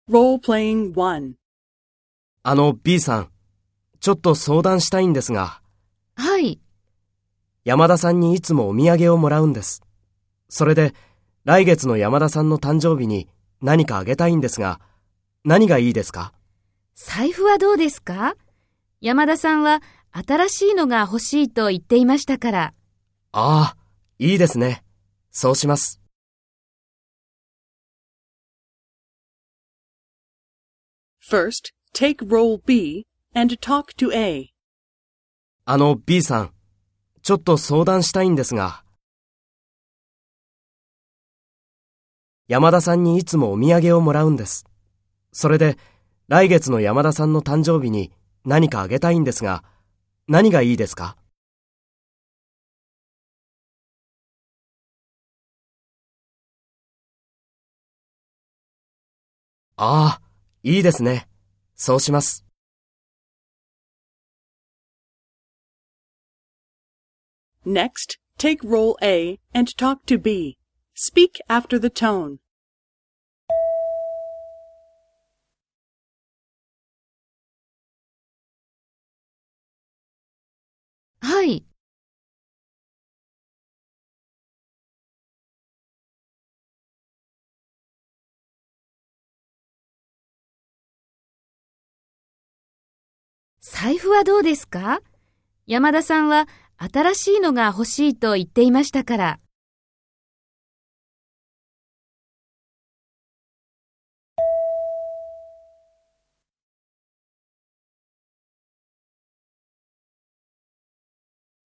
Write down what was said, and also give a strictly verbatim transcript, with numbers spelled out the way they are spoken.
Role-playing one. あの B さん、ちょっと相談したいんですが、 はい。 山田さんにいつもお土産をもらうんです。それで、来月の山田さんの誕生日に何かあげたいんですが、何がいいですか？ 財布はどうですか？山田さんは新しいのが欲しいと言っていましたから。 ああ、いいですね。そうします。 First, take role B and talk to A. あの B さん、ちょっと相談したいんですが、山田さんにいつもお土産をもらうんです。それで、来月の山田さんの誕生日に何かあげたいんですが、何がいいですか？ああ、いいですね。そうします。 Next, take role A and talk to B. Speak after the tone. はい。財布はどうですか？山田さんは新しいのが欲しいと言っていましたから。